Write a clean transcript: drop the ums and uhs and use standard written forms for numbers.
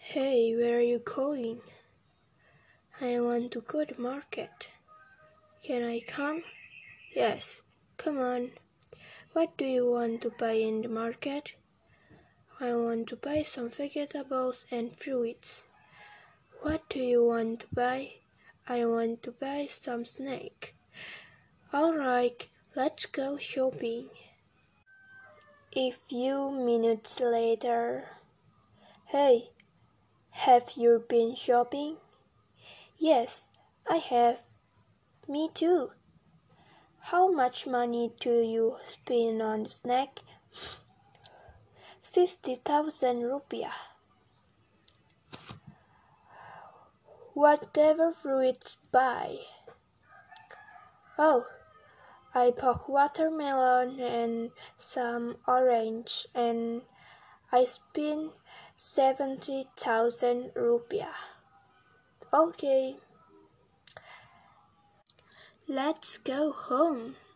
Hey, where are you going? I want to go to market. Can I come? Yes, come on. What do you want to buy in the market? I want to buy some vegetables and fruits. What do you want to buy? I want to buy some snacks. Alright, let's go shopping. A few minutes later. Hey, have you been shopping? Yes, I have. Me too. How much money do you spend on snack? 50,000 rupiah. Whatever fruits buy. Oh, I bought watermelon and some orange and I spent 70,000 rupiah. Okay, let's go home.